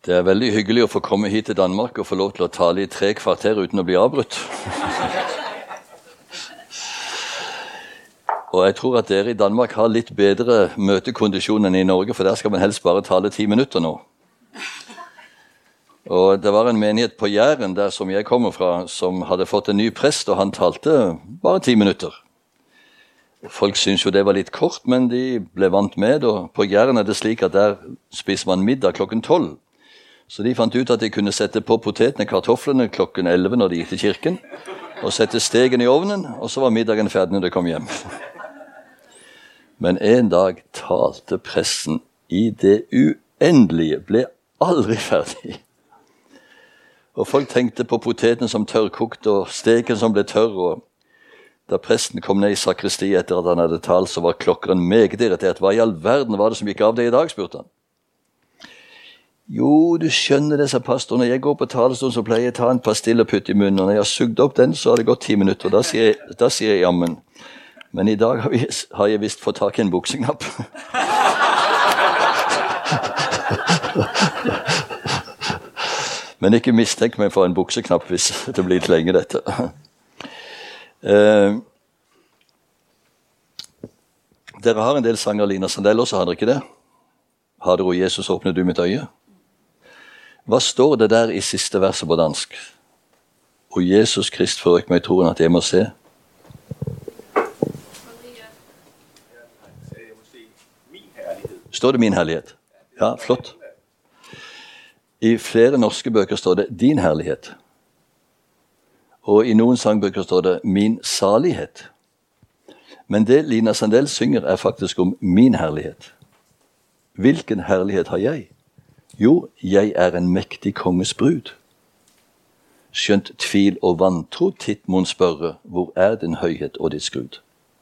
Det er veldig hyggelig å få komme hit til Danmark og få lov til å tale i 3 kvarter uten å bli avbrutt. Og jeg tror at dere i Danmark har litt bedre møtekondisjon enn i Norge, for der skal man helst bare tale 10 minutter nå. Og det var en menighet på Jæren, der som jeg kommer fra, som hadde fått en ny prest, og han talte bare 10 minutter. Folk synes jo det var litt kort, men de ble vant med, og på Jæren er det slik at der spiser man middag klokken 12. Så de fant ut at de kunne sette på potetene, kartoflene klokken 11 når de gikk til kirken, og sette stegen i ovnen, og så var middagen ferdig når de kom hjem. Men en dag talte pressen i det uendelige, ble aldri ferdig. Og folk tenkte på poteten som tørrkokt, og steken som ble tørr, og da presten kom ned i sakristi etter at han hadde talt, så var klokkeren meget irritert. Hva i all verden var det som gikk av det i dag, spurte han. Jo, du skjønner det, sa pastoren. Når jeg går på talerstolen, så pleier jeg å ta en pastill og putte i munnen. Og når jeg har sugd opp den, så har det gått 10 minutter. Da sier jeg jammen. Men i dag har jeg visst fått tak i en bukseknapp. Men ikke mistenk meg for en bukseknapp hvis det blir litt lenge dette. Dere har en del sanger, Lina Sandell også, har dere ikke det? Har dere, Jesus, åpnet du mitt øye? Hva står det der i siste verset på dansk? Og Jesus Krist forøk meg i troen at jeg må se. Står det min herlighet? Ja, flott. I flere norske bøker står det din herlighet. Og i noen sangbøker står det min salighet. Men det Lina Sandell synger er faktisk om min herlighet. Hvilken herlighet har jeg? Jo, jeg er en mektig konges brud. Skjønt tvil og vantro titt mon spørre, hvor er din høyhet og ditt skrud?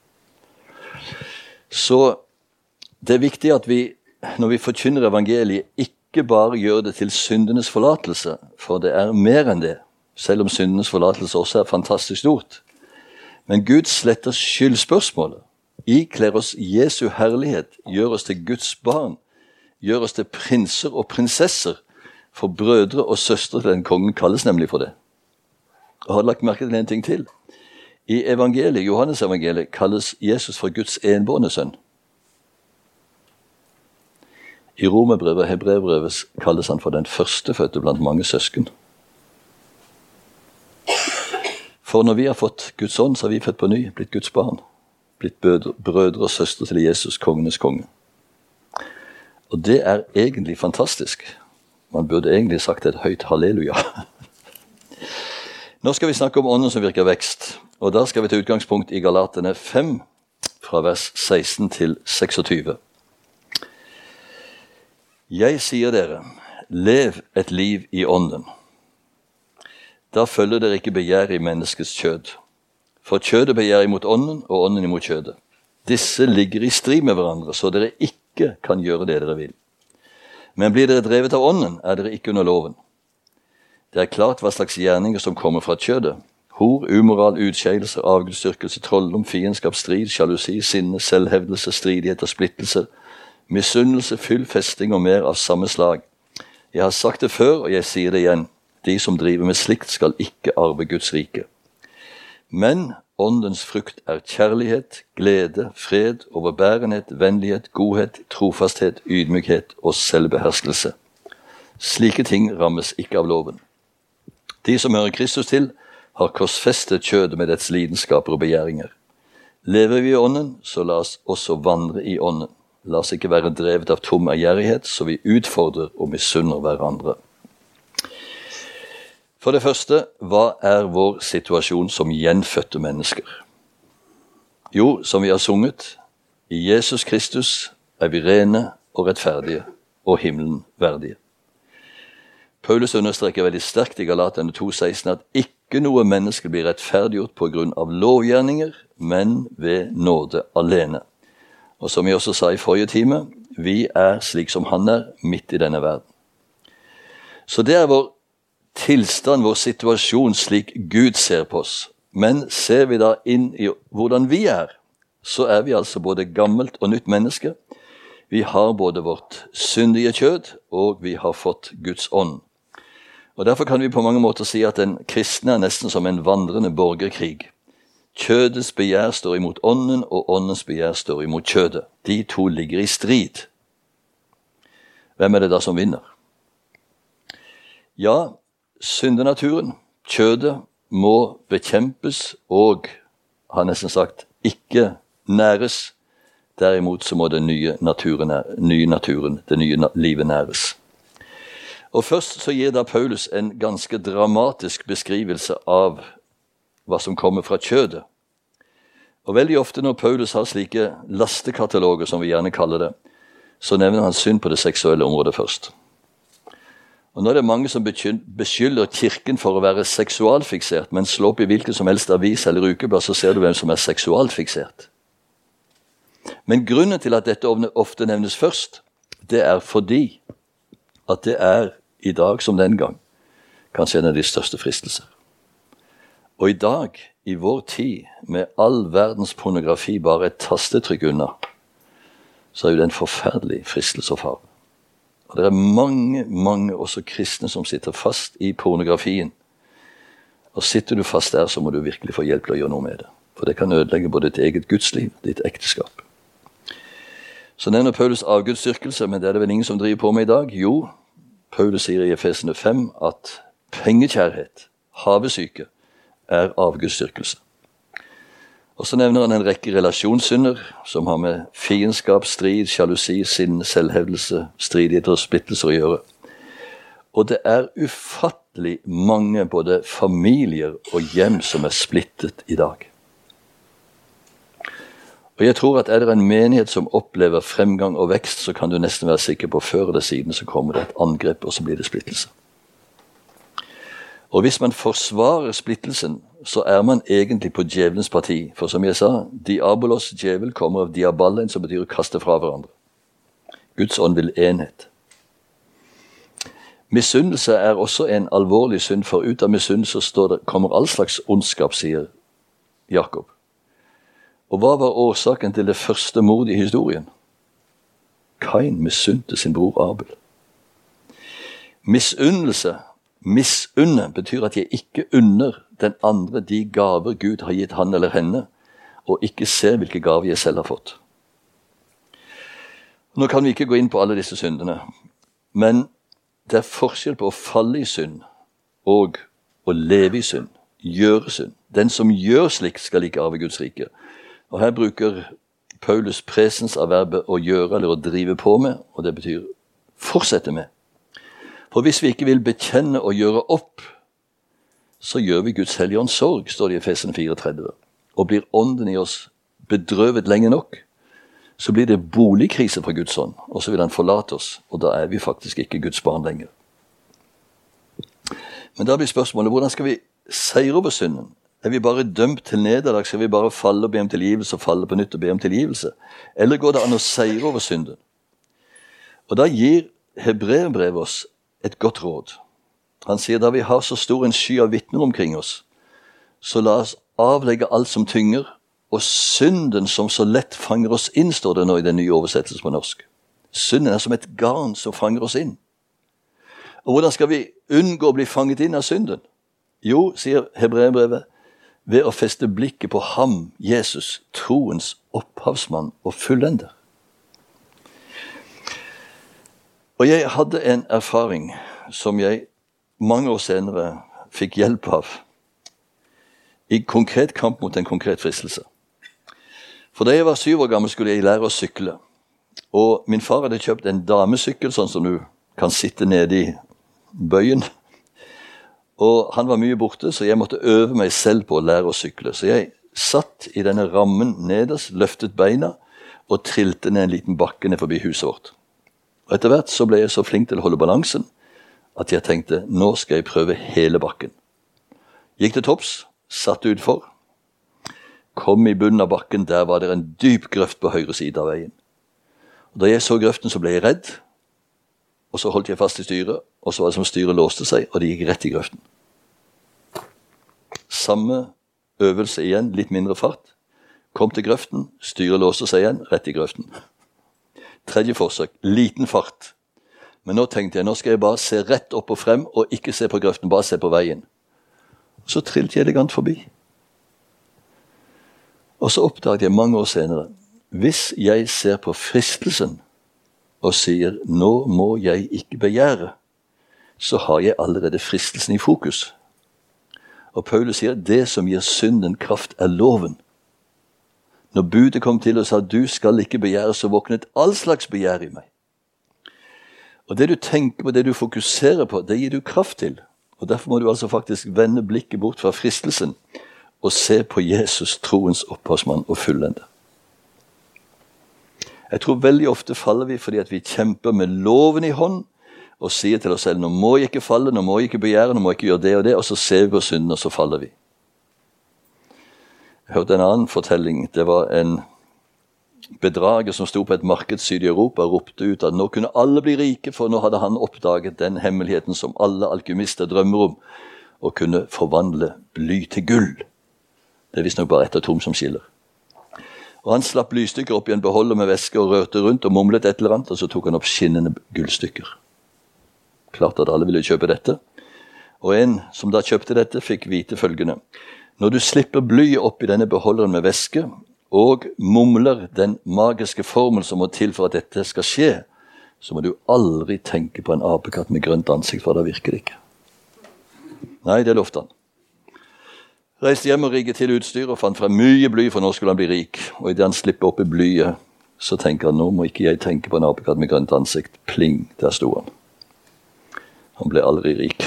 Så det er viktig at vi, når vi forkynner evangeliet, ikke bare gjør det til syndenes forlatelse, for det er mer enn det, selv om syndenes forlatelse også er fantastisk stort. Men Gud sletter skyldspørsmålet, ikler oss Jesu herlighet, gjør oss til Guds barn, gjør oss til prinser og prinsesser, for brødre og søstre til den kongen kalles nemlig for det. Og har lagt merke til en ting til. I evangeliet, Johannes evangeliet, kalles Jesus for Guds enbårne sønn. I Romerbrevet og Hebreerbrevet kalles han for den førstefødte blant mange søsken. For når vi har fått Guds ånd, så har vi født på ny, blitt Guds barn, blitt brødre og søstre til Jesus, kongenes konge. Og det er egentlig fantastisk. Man burde egentlig sagt et høyt halleluja. Nå skal vi snakke om ånden som virker vekst, og da skal vi til utgangspunkt i Galaterne 5, fra vers 16 til 26. Jeg sier dere, lev et liv i ånden. Da følger dere ikke begjær i menneskets kjød. For kjødet begjær imot ånden, og ånden imot kjødet. Disse ligger i strid med hverandre, så dere ikke kan gjøre det dere vil. Men blir dere drevet av ånden, er dere ikke under loven. Det er klart hva slags gjerninger som kommer fra kjødet. Hor, umoral, utskeielser, avgudsdyrkelse, trolldom, fiendskap, strid, sjalusi, sinne, selvhevdelse, stridighet og splittelse, misunnelse, fyll, festing og mer av samme slag. Jeg har sagt det før, og jeg sier det igjen. De som driver med slikt skal ikke arve Guds rike. Men åndens frukt er kjærlighet, glede, fred, overbærenhet, vennlighet, godhet, trofasthet, ydmykhet og selvbeherskelse. Slike ting rammes ikke av loven. De som hører Kristus til, har korsfestet kjødet med dets lidenskaper og begjæringer. Lever vi i ånden, så la oss også vandre i ånden. La oss ikke være drevet av tom ærgjerrighet, så vi utfordrer og misunner hverandre. For det første, hva er vår situasjon som gjenfødte mennesker? Jo, som vi har sunget, i Jesus Kristus er vi rene og rettferdige og himmelen verdige. Paulus understreker veldig sterkt i Galaterne 2,16 at ikke noe menneske blir rettferdiggjort på grunn av lovgjerninger, men ved nåde alene. Og som jeg også sa i forrige time, vi er slik som han er midt i denne verden. Så det er vår tilstand, vår situasjon slik Gud ser på oss. Men ser vi da inn i hvordan vi er, så er vi altså både gammelt og nytt menneske. Vi har både vårt syndige kjød, og vi har fått Guds ånd. Og derfor kan vi på mange måter si at den kristne er nesten som en vandrende borgerkrig. Kjødets begjær står imot ånden, og åndens begjær står imot kjødet. De to ligger i strid. Hvem er det da som vinner? Ja, syndenaturen, kjødet, må bekjempes og, har nesten sagt, ikke næres. Derimot så må den nye naturen, det nye livet næres. Og først så gir da Paulus en ganske dramatisk beskrivelse av hva som kommer fra kjødet. Og veldig ofte når Paulus har slike lastekataloger, som vi gjerne kaller det, så nevner han synd på det seksuelle området først. Og nå er det mange som beskylder kirken for å være seksualfiksert, men slå opp i hvilken som helst avis eller ukeblad, så ser du hvem som er seksualfiksert. Men grunnen til at dette ofte nevnes først, det er fordi at det er i dag som den gang kanskje en av de største fristelser. Og i dag, i vår tid, med all verdens pornografi bare et tastetrykk unna, så er jo det en forferdelig fristelse og fare. Og det er mange også kristne som sitter fast i pornografien. Og sitter du fast der, så må du virkelig få hjelp til å gjøre noe med det. For det kan ødelegge både ditt eget gudsliv, ditt ekteskap. Så nevner Paulus avgudsdyrkelse, men det er det vel ingen som driver på med i dag? Jo, Paulus sier i Efesene 5 at pengekjærhet, havesyke, er avgudsdyrkelse. Og så nevner han en rekke relasjonssynder som har med fiendskap, strid, sjalusi, sinne, selvhevdelse, stridigheter og splittelser å gjøre. Og det er ufattelig mange både familier og hjem som er splittet i dag. Og jeg tror at er det en menighet som opplever fremgang og vekst, så kan du nesten være sikker på før eller siden så kommer det et angrep, og så blir det splittelse. Og hvis man forsvarer splittelsen, så er man egentlig på djevelens parti. For som jeg sa, diabolos, djevel, kommer av diaballen, som betyr å kaste fra hverandre. Guds ånd vil enhet. Misunnelse er også en alvorlig synd, for ut av misunnelse kommer all slags ondskap, sier Jakob. Og hva var årsaken til det første mord i historien? Kain misunte sin bror Abel. Misunne betyr at jeg ikke unner den andre de gaver Gud har gitt han eller henne, og ikke ser hvilke gaver jeg selv har fått. Nå kan vi ikke gå inn på alle disse syndene, men det er forskjell på å falle i synd og å leve i synd, gjøre synd. Den som gjør slikt skal ikke arve Guds rike. Og her bruker Paulus presens av verbet å gjøre eller å drive på med, og det betyr fortsette med. For hvis vi ikke vil bekjenne og gjøre opp, så gjør vi Guds hellige ånds sorg, står det i Efesene 34. Og blir ånden i oss bedrøvet lenge nok, så blir det boligkrise for Guds ånd, og så vil han forlate oss, og da er vi faktisk ikke Guds barn lenger. Men da blir spørsmålet, hvordan skal vi seire over synden? Er vi bare dømt til nederlag? Skal vi bare falle og be om tilgivelse, og falle på nytt og be om tilgivelse? Eller går det an å seire over synden? Og da gir Hebreerbrevet oss et godt råd. Han sier, da vi har så stor en sky av vitner omkring oss, så la oss avlegge alt som tynger, og synden som så lett fanger oss inn, står det nå i den nye oversettelsen på norsk. Synden er som et garn som fanger oss inn. Og hvordan skal vi unngå å bli fanget inn av synden? Jo, sier Hebreerbrevet, ved å feste blikket på ham, Jesus, troens opphavsmann og fullender. Og jeg hadde en erfaring som jeg mange år senere fikk hjelp av i konkret kamp mot en konkret fristelse. For da jeg var 7 år gammel skulle jeg lære å sykle. Og min far hadde kjøpt en damesykkel, sånn som du kan sitte nede i bøyen. Og han var mye borte, så jeg måtte øve meg selv på å lære å sykle. Så jeg satt i denne rammen nederst, løftet beina og trilte ned en liten bakke ned forbi huset vårt. Og etter hvert så ble jeg så flink til å holde balansen at jeg tenkte, nå skal jeg prøve hele bakken. Gikk til topps, satt utfor, kom i bunnen av bakken, der var det en dyp grøft på høyre side av veien. Og da jeg så grøften så ble jeg redd, og så holdt jeg fast i styret, og så var det som styret låste seg, og det gikk rett i grøften. Samme øvelse igjen, litt mindre fart. Kom til grøften, styret låste seg igjen, rett i grøften. Tredje forsøk, liten fart. Men nå tenkte jeg, nå skal jeg bare se rett opp og frem, og ikke se på grøften, bare se på veien. Så trillte jeg elegant forbi. Og så oppdaget jeg mange år senere, hvis jeg ser på fristelsen og sier, nå må jeg ikke begjære, så har jeg allerede fristelsen i fokus. Og Paulus sier, det som gir synden kraft er loven. Når budet kom til og sa, du skal ikke begjære, så våknet all slags begjær i meg. Og det du tenker på, det du fokuserer på, det gir du kraft til. Og derfor må du altså faktisk vende blikket bort fra fristelsen og se på Jesus, troens opphavsmann og fullende. Jeg tror veldig ofte faller vi fordi at vi kjemper med loven i hånd og sier til oss selv, nå må jeg ikke falle, nå må jeg ikke begjære, nå må jeg ikke gjøre det og det, og så ser vi på synden, og så faller vi. Jeg hørte en annen fortelling. Det var en bedrager som sto på et marked syd i Europa og ropte ut at nå kunne alle bli rike, for nå hadde han oppdaget den hemmeligheten som alle alkymister drømmer om, å kunne forvandle bly til gull. Det er visst nok bare ett atom som skiller. Og han slapp blystykker opp i en beholder med væske og rørte rundt og mumlet et eller annet, og så tok han opp skinnende gullstykker. Klart at alle ville kjøpe dette. Og en som da kjøpte dette fikk vite følgende. Når du slipper blyet opp i denne beholderen med væske, og mumler den magiske formel som må til for at dette skal skje, så må du aldri tenke på en apekatt med grønt ansikt, for da virker det ikke. Nei, det lovte han. Reiste hjem og rigget til utstyr og fant frem mye bly, for nå skulle han bli rik. Og i det han slipper opp i blyet, så tenker han, nå må ikke jeg tenke på en apekatt med grønt ansikt. Pling, der sto han. Han ble aldri rik.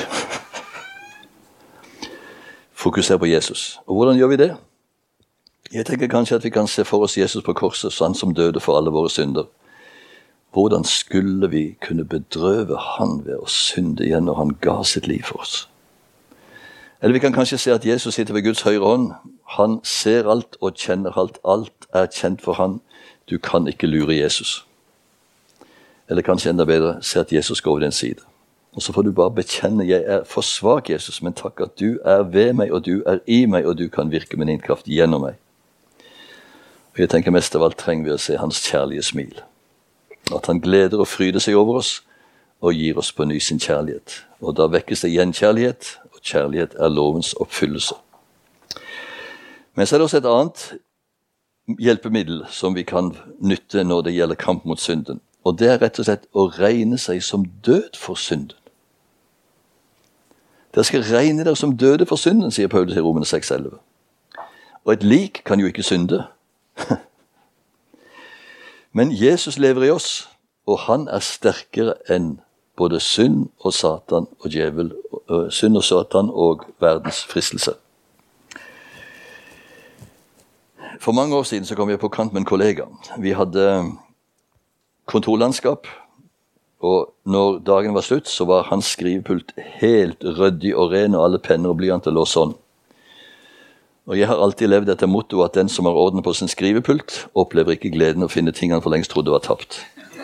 Fokuser på Jesus. Og hvordan gjør vi det? Jeg tenker kanskje at vi kan se for oss Jesus på korset, sånn som døde for alle våre synder. Hvordan skulle vi kunne bedrøve han ved å synde igjen når han ga sitt liv for oss? Eller vi kan kanskje se at Jesus sitter ved Guds høyre hånd. Han ser alt og kjenner alt. Alt er kjent for han. Du kan ikke lure Jesus. Eller kanskje enda bedre, se at Jesus går over din side. Og så får du bare bekjenne, jeg er for svak, Jesus, men takk at du er ved meg, og du er i meg, og du kan virke med din kraft gjennom meg. Og jeg tenker mest av alt trenger vi å se hans kjærlige smil. At han gleder og fryder seg over oss, og gir oss på ny sin kjærlighet. Og da vekkes det gjenkjærlighet, og kjærlighet er lovens oppfyllelse. Men så er det også et annet hjelpemiddel som vi kan nytte når det gjelder kamp mot synden. Og det er rett og slett å regne seg som død for synden. Dere skal regne dere som døde for synden, sier Paulus i Romerne 6,11. Og et lik kan jo ikke synde. Men Jesus lever i oss, og han er sterkere enn både synd og Satan og djevel, synd og Satan og verdens fristelse. For mange år siden så kom jeg på kant med en kollega. Vi hadde kontorlandskap, og når dagen var slutt, så var hans skrivepult helt ryddig og ren, og alle penner og blyanter lå sånn. Og jeg har alltid levd etter motto at den som har orden på sin skrivepult, opplever ikke gleden å finne ting han for lengst trodde var tapt.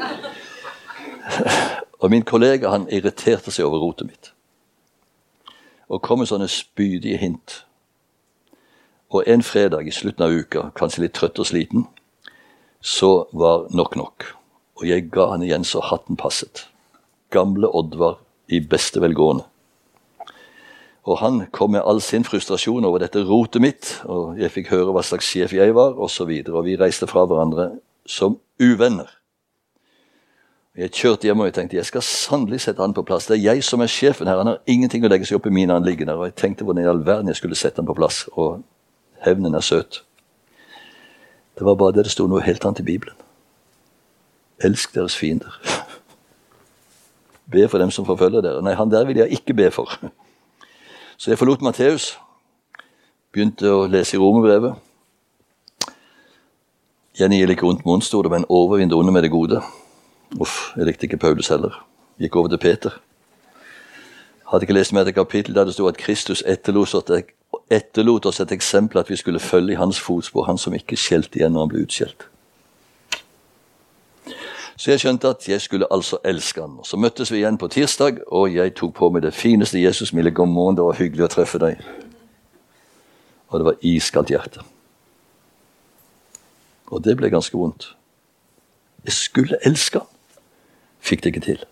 Og min kollega, han irriterte seg over rotet mitt. Og kom med sånne spydige hint. Og en fredag i slutten av uka, kanskje litt trøtt og sliten, så var nok. Og jeg ga han igjen så hatten passet. Gamle Oddvar i beste velgående. Og han kom med all sin frustrasjon over dette rotet mitt, og jeg fikk høre hva slags sjef jeg var, og så videre. Og vi reiste fra hverandre som uvenner. Jeg kjørte hjem og jeg tenkte, jeg skal sannelig sette han på plass. Det er jeg som er sjefen her, han har ingenting å legge seg opp i mine anliggender. Og jeg tenkte hvordan i all verden jeg skulle sette han på plass, og hevnen er søt. Det var bare det stod noe helt annet i Bibelen. Elsk deres fiender. Be for dem som forfølger dere. Nei, han der vil jeg ikke be for. Så jeg forlot Matteus, begynte å lese i Romerbrevet. Jenny gir ikke ondt med ondt, stod det, men overvinn det onde med det gode. Uff, jeg likte ikke Paulus heller. Gikk over til Peter. Hadde ikke lest med et kapittel der det stod at Kristus etterlot oss et eksempel at vi skulle følge i hans fotspor, han som ikke skjelte igjen når han ble utskjelt. Så jeg skjønte at jeg skulle altså elske han. Og så møttes vi igjen på tirsdag, og jeg tok på meg det fineste Jesus, mille god morgen, det var hyggelig å treffe deg. Og det var iskaldt hjerte. Og det ble ganske vondt. Jeg skulle elske han. Fikk det ikke til.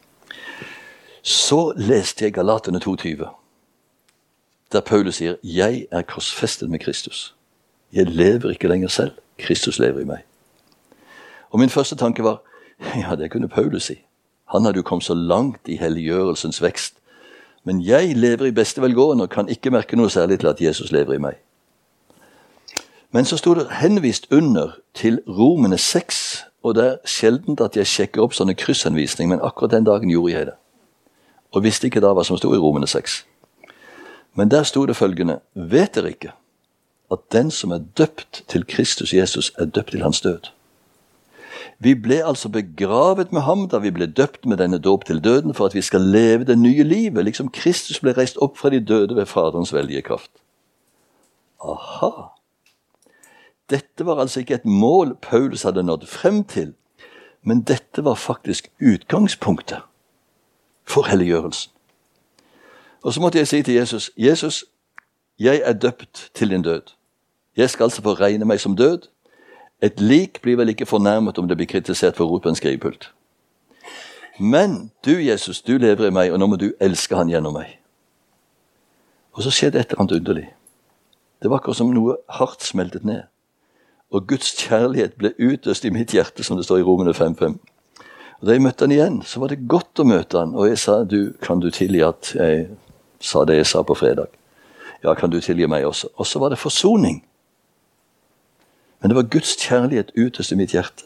Så leste jeg Galaterne 2,20, der Paulus sier, jeg er korsfestet med Kristus. Jeg lever ikke lenger selv. Kristus lever i meg. Og min første tanke var, ja, det kunne Paulus si. Han hadde jo kommet så langt i helliggjørelsens vekst. Men jeg lever i beste velgående og kan ikke merke noe særlig til at Jesus lever i meg. Men så stod det henvist under til Romene 6, og det er sjeldent at jeg sjekker opp sånne kryssanvisning, men akkurat den dagen gjorde jeg det. Og visste ikke da hva som stod i Romene 6. Men der stod det følgende, vet dere ikke at den som er døpt til Kristus Jesus er døpt til hans død? Vi ble altså begravet med ham da vi ble døpt med denne dåp til døden for at vi skal leve det nye livet, liksom Kristus ble reist opp fra de døde ved Faderens veldige kraft. Aha! Dette var altså ikke et mål Paulus hadde nådd frem til, men dette var faktisk utgangspunktet for helliggjørelsen. Og så måtte jeg si til Jesus, Jesus, jeg er døpt til din død. Jeg skal altså få regne meg som død. Et lik blir vel ikke fornærmet om det blir kritisert for rot på en skrivepult. Men du, Jesus, du lever i meg, og nå må du elske han gjennom meg. Og så skjedde et eller annet underlig. Det var akkurat som noe hardt smeltet ned. Og Guds kjærlighet ble utøst i mitt hjerte, som det står i Romene 5,5. Og da jeg møtte han igjen, så var det godt å møte han. Og jeg sa, kan du tilgi at jeg sa det jeg sa på fredag? Ja, kan du tilgi meg også? Og så var det forsoning. Men det var Guds kjærlighet utøst i mitt hjerte.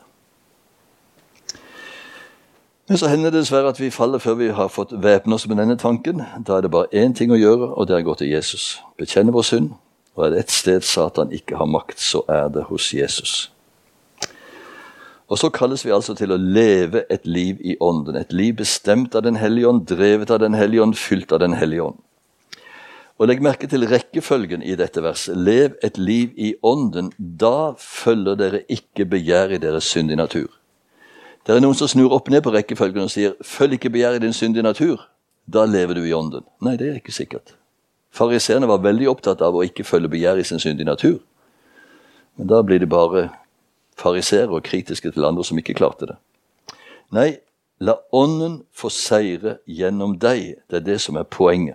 Men så hender det dessverre at vi faller før vi har fått væpne oss med denne tanken. Da er det bare én ting å gjøre, og det er å gå til Jesus. Bekjenne vår synd. Og er det et sted Satan ikke har makt, så er det hos Jesus. Og så kalles vi altså til å leve et liv i ånden. Et liv bestemt av den hellige ånd, drevet av den hellige ånd, fylt av den hellige ånd. Og legg merke til rekkefølgen i dette verset. Lev et liv i ånden, da følger dere ikke begjær i deres syndige natur. Det er noen som snur opp ned på rekkefølgen og sier, følg ikke begjær i din syndige natur, da lever du i ånden. Nei, det er ikke sikkert. Fariseerne var veldig opptatt av å ikke følge begjær i sin syndige natur. Men da blir de bare fariseere og kritiske til andre som ikke klarte det. Nei, la ånden få seire gjennom deg. Det er det som er poenget.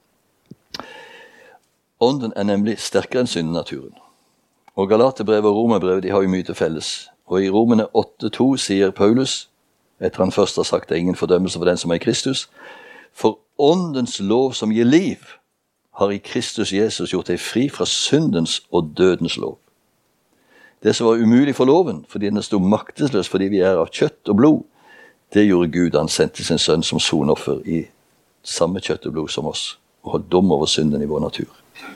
Ånden er nemlig sterkere enn syndenaturen. Og Galaterbrevet og Romerbrevet, de har jo mye til felles. Og i Romene 8,2 sier Paulus, etter han først har sagt det er ingen fordømmelse for den som er i Kristus, for åndens lov som gir liv, har i Kristus Jesus gjort deg fri fra syndens og dødens lov. Det som var umulig for loven, fordi den stod maktesløs fordi vi er av kjøtt og blod, det gjorde Gud. Han sendte sin sønn som sonoffer i samme kjøtt og blod som oss, og holdt dom over synden i vår natur.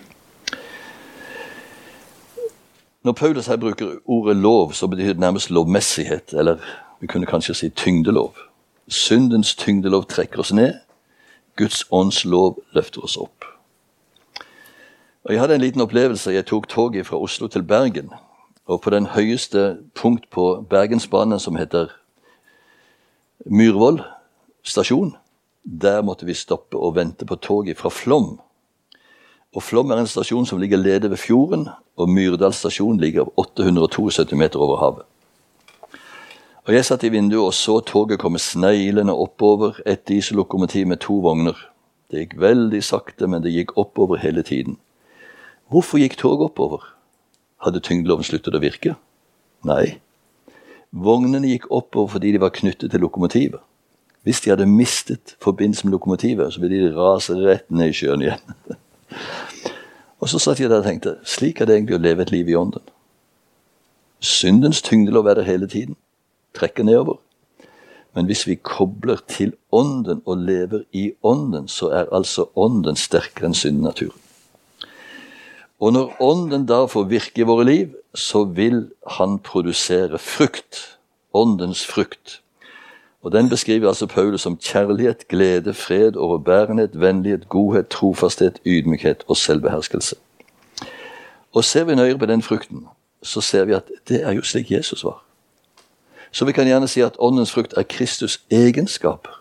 Når Paulus her bruker ordet lov, så betyr det nærmest lovmessighet, eller vi kunne kanskje si tyngdelov. Syndens tyngdelov trekker oss ned, Guds ånds lov løfter oss opp. Og jeg hadde en liten opplevelse. Jeg tok toget fra Oslo til Bergen, og på den høyeste punkt på Bergensbanen, som heter Myrvoll stasjon, der måtte vi stoppe og vente på toget fra Flåm. Og Flåm er en stasjon som ligger lede ved fjorden, og Myrdal stasjon ligger 872 meter over havet. Og jeg satt i vinduet og så toget komme sneilende oppover et diesellokomotiv med 2 vogner. Det gikk veldig sakte, men det gikk oppover hele tiden. Hvorfor gikk toget oppover? Hadde tyngdeloven sluttet å virke? Nei. Vognene gikk oppover fordi de var knyttet til lokomotivet. Hvis de hadde mistet forbindelse med lokomotivet, så ville de rase rett ned i sjøen igjen. Og så satt jeg der og tenkte, slik er det egentlig å leve et liv i ånden. Syndens tyngdelov er der hele tiden, trekker nedover. Men hvis vi kobler til ånden og lever i ånden, så er altså ånden sterkere enn syndnaturen. Og når ånden da får virke i våre liv, så vil han produsere frukt, åndens frukt. Og den beskriver altså Paulus som kjærlighet, glede, fred, overbærenhet, vennlighet, godhet, trofasthet, ydmykhet og selvbeherskelse. Og ser vi nøyere på den frukten, så ser vi at det er jo slik Jesus var. Så vi kan gjerne si at åndens frukt er Kristus egenskaper.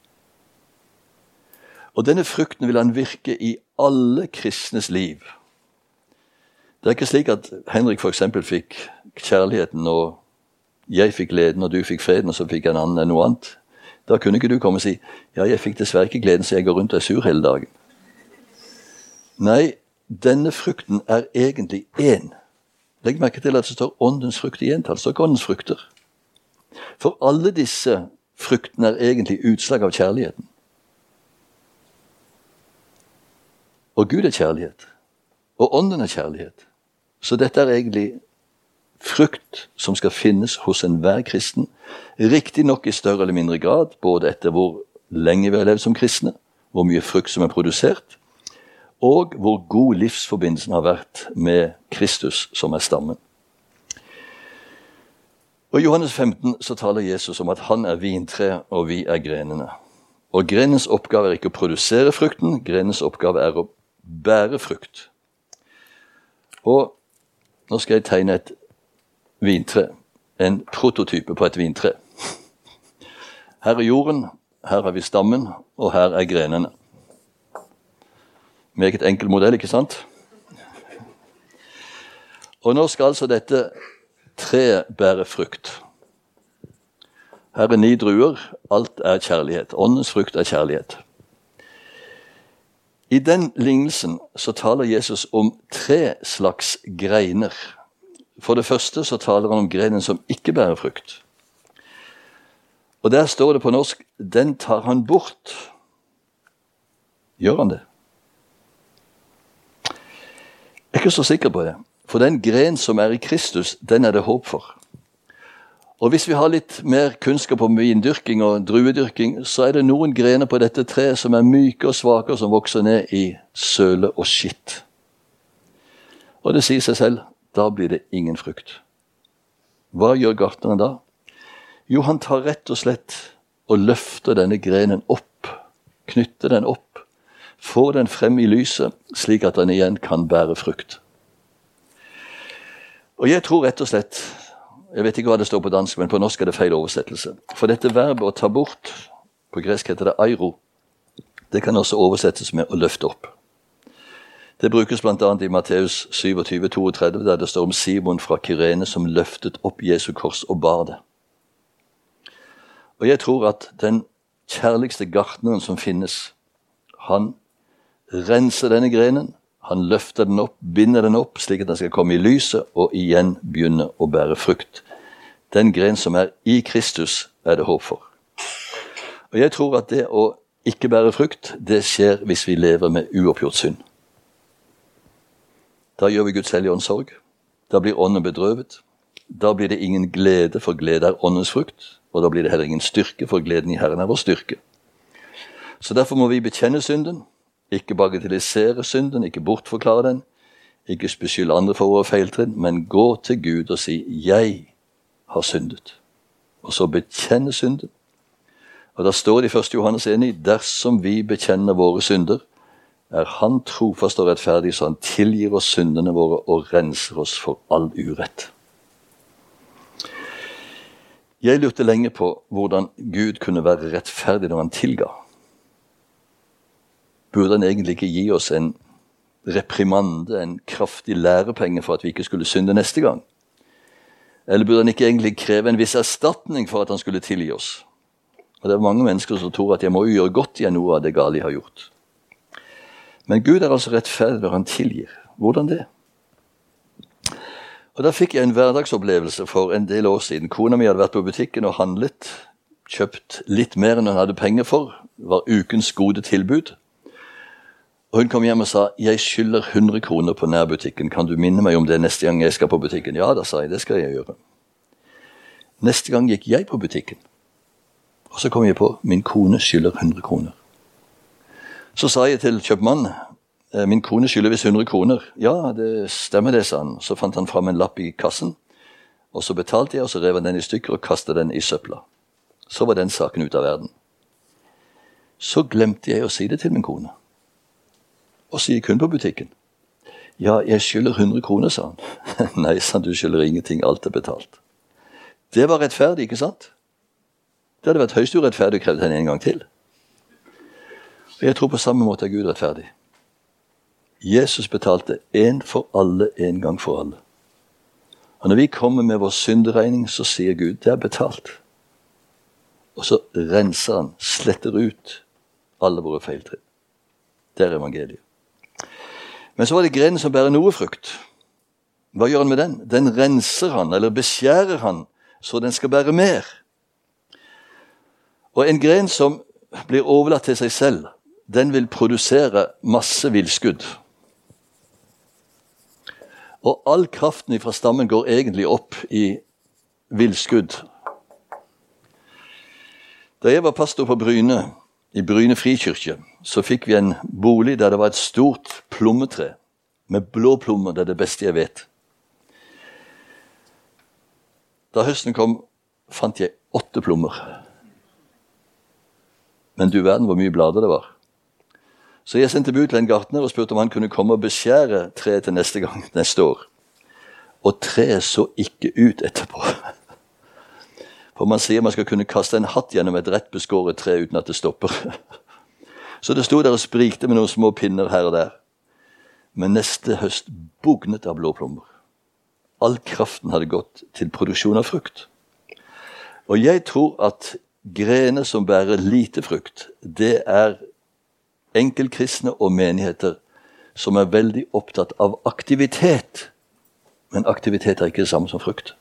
Og denne frukten vil han virke i alle kristnes liv. Det er ikke slik at Henrik for eksempel fikk kjærligheten og jeg fikk gleden, og du fikk freden, og så fikk en annen noe annet. Da kunne ikke du komme og si, ja, jeg fikk dessverre ikke gleden, så jeg går rundt og er sur hele dagen. Nei, denne frukten er egentlig én. Legg merke til at det står åndens frukt i entall, det står ikke åndens frukter. For alle disse fruktene er egentlig utslag av kjærligheten. Og Gud er kjærlighet. Og ånden er kjærlighet. Så dette er egentlig frukt som skal finnes hos enhver kristen, riktig nok i større eller mindre grad, både etter hvor lenge vi har levd som kristne, hvor mye frukt som er produsert, og hvor god livsforbindelsen har vært med Kristus som er stammen. Og i Johannes 15 så taler Jesus om at han er vintre og vi er grenene. Og grenens oppgave er ikke å produsere frukten, grenens oppgave er å bære frukt. Og nå skal jeg tegne et vintre, en prototype på et vintre. Her er jorden, her har vi stammen, og her er grenene. Meget enkel modell, ikke sant? Og nå skal altså dette treet bære frukt. Her er 9 druer, alt er kjærlighet. Åndens frukt er kjærlighet. I den lignelsen så taler Jesus om 3 slags greiner. For det første så taler han om grenen som ikke bærer frukt. Og der står det på norsk, den tar han bort. Gjør han det? Jeg er ikke så sikker på det. For den gren som er i Kristus, den er det håp for. Og hvis vi har litt mer kunnskap om vindyrking og druedyrking, så er det noen grener på dette treet som er myke og svake, og som vokser ned i søle og skitt. Og det sier seg selv, da blir det ingen frukt. Hva gjør gartneren da? Jo, han tar rett og slett og løfter denne grenen opp, knytter den opp, får den frem i lyset, slik at den igjen kan bære frukt. Og jeg tror rett og slett, jeg vet ikke hva det står på dansk, men på norsk er det feil oversettelse. For dette verbet å ta bort, på gresk heter det airo, det kan også oversettes med å løfte opp. Det brukes blant annet i Matteus 27:32, der det står om Simon fra Kyrene som løftet opp Jesu kors og bar det. Og jeg tror at den kjærligste gartneren som finnes, han renser denne grenen, han løfter den opp, binder den opp, slik at den skal komme i lyset, og igjen begynne å bære frukt. Den gren som er i Kristus, er det håp for. Og jeg tror at det å ikke bære frukt, det skjer hvis vi lever med uoppgjort synd. Da gjør vi Guds hellige ånds sorg. Da blir ånden bedrøvet. Da blir det ingen glede, for glede er åndens frukt. Og da blir det heller ingen styrke, for gleden i Herren er vår styrke. Så derfor må vi bekjenne synden, ikke bagatellisere synden, ikke bortforklare den, ikke beskylde andre for våre feiltrinn, men gå til Gud og si, jeg har syndet. Og så bekjenne synden. Og da står det i 1. Johannes 1, dersom vi bekjenner våre synder, er han trofast og rettferdig, så han tilgir oss syndene våre og renser oss for all urett. Jeg lurte lenge på hvordan Gud kunne være rettferdig når han tilga. Burde han egentlig ikke gi oss en reprimande, en kraftig lærepenge for at vi ikke skulle synde neste gang? Eller burde han ikke egentlig kreve en viss erstatning for at han skulle tilgi oss? Og det er mange mennesker som tror at jeg må gjøre godt igjen noe av det gale jeg har gjort. Men Gud er altså rettferdig når han tilgir. Hvordan det? Og da fikk jeg en hverdagsopplevelse for en del år siden. Kona mi hadde vært på butikken og handlet, kjøpt litt mer enn hun hadde penger for. Det var ukens gode tilbud. Og hun kom hjem og sa, jeg skylder 100 kroner på nærbutikken. Kan du minne meg om det neste gang jeg skal på butikken? Ja, da sa jeg, det skal jeg gjøre. Neste gang gikk jeg på butikken. Og så kom jeg på, min kone skylder 100 kroner. Så sa jeg til kjøpmannen, min kone skylder visst 100 kroner. Ja, det stemmer det, sa han. Så fant han fram en lapp i kassen, og så betalte jeg, og så rev han den i stykker og kastet den i søpla. Så var den saken ut av verden. Så glemte jeg å si det til min kone. Og så gikk hun på butikken. Ja, jeg skylder 100 kroner, sa han. Nei, sa han, du skylder ingenting, alt er betalt. Det var rettferdig, ikke sant? Det hadde vært høyst urettferdig å kreve henne en gang til. Og jeg tror på samme måte er Gud rettferdig. Jesus betalte en for alle, en gang for alle. Og når vi kommer med vår synderegning, så sier Gud, det er betalt. Og så renser han, sletter ut alle våre feiltrinn. Det er evangeliet. Men så var det grenen som bærer noe frukt. Hva gjør han med den? Den renser han, eller beskjærer han, så den skal bære mer. Og en gren som blir overlatt til seg selv, den vil produsere masse villskudd. Og all kraften fra stammen går egentlig opp i villskudd. Da jeg var pastor på Bryne, i Bryne frikirke, så fikk vi en bolig der det var et stort plommetre, med blå plommer, det er det beste jeg vet. Da høsten kom, fant jeg 8 plommer. Men du verden hvor mye blader det var. Så jeg sendte bud til en gartner og spurte om han kunne komme og beskjære treet til neste år. Og treet så ikke ut etterpå. For man sier man skal kunne kaste en hatt gjennom et rett beskåret tre uten at det stopper. Så det stod der og sprikte med noen små pinner her og der. Men neste høst bugnet av blåplommer. All kraften hadde gått til produksjon av frukt. Og jeg tror at grener som bærer lite frukt, det er enkeltkristne og menigheter som er veldig opptatt av aktivitet. Men aktivitet er ikke det samme som frukt.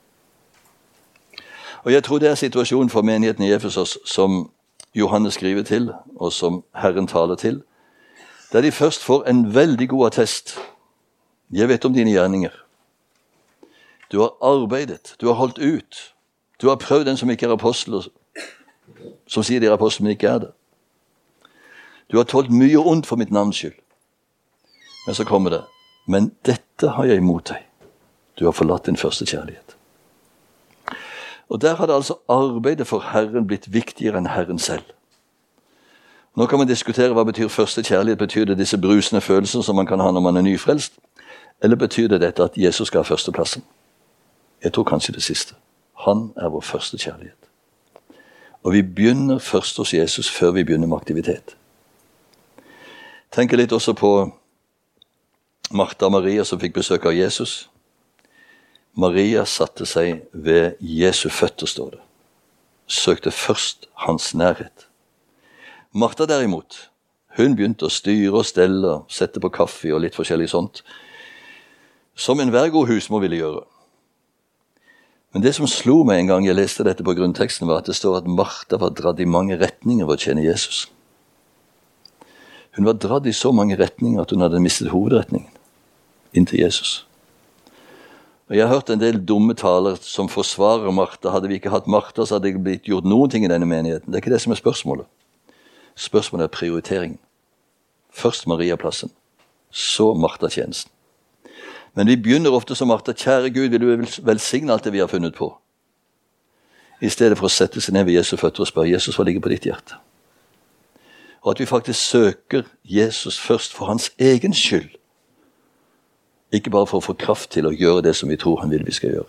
Og jeg tror det er situasjonen for menigheten i Efesos som Johannes skriver til, og som Herren taler til, der de først får en veldig god attest. Jeg vet om dine gjerninger. Du har arbeidet, du har holdt ut, du har prøvd den som ikke er apostel, som sier de er apostel, men ikke er det. Du har tålt mye ondt for mitt navns skyld. Men så kommer det, men dette har jeg imot deg. Du har forlatt din første kjærlighet. Og der hadde altså arbeidet for Herren blitt viktigere enn Herren selv. Nå kan man diskutere hva betyr første kjærlighet. Betyr det disse brusende følelser som man kan ha når man er nyfrelst? Eller betyr det dette at Jesus skal ha førsteplassen? Jeg tror kanskje det siste. Han er vår første kjærlighet. Og vi begynner først hos Jesus før vi begynner med aktivitet. Tenker litt også på Martha og Maria som fikk besøk av Jesus. Maria satte seg ved Jesu føtter, står det. Søkte først hans nærhet. Martha derimot, hun begynte å styre og stelle, sette på kaffe og litt forskjellig sånt, som enhver god husmor ville gjøre. Men det som slo meg en gang jeg leste dette på grunnteksten, var at det står at Martha var dratt i mange retninger for å tjene Jesus. Hun var dratt i så mange retninger at hun hadde mistet hovedretningen inntil Jesus. Og jeg har hørt en del dumme taler som forsvarer Martha. Hadde vi ikke hatt Martha, så hadde det blitt gjort noen ting i denne menigheten. Det er ikke det som er spørsmålet. Spørsmålet er prioriteringen. Først Maria-plassen, så Martha-tjenesten. Men vi begynner ofte som Martha. Kjære Gud, vil du velsigne alt det vi har funnet på? I stedet for å sette seg ned ved Jesu føtter og spørre Jesus, hva ligger på ditt hjerte? Og at vi faktisk søker Jesus først for hans egen skyld. Ikke bare for å få kraft til å gjøre det som vi tror han vil vi skal gjøre.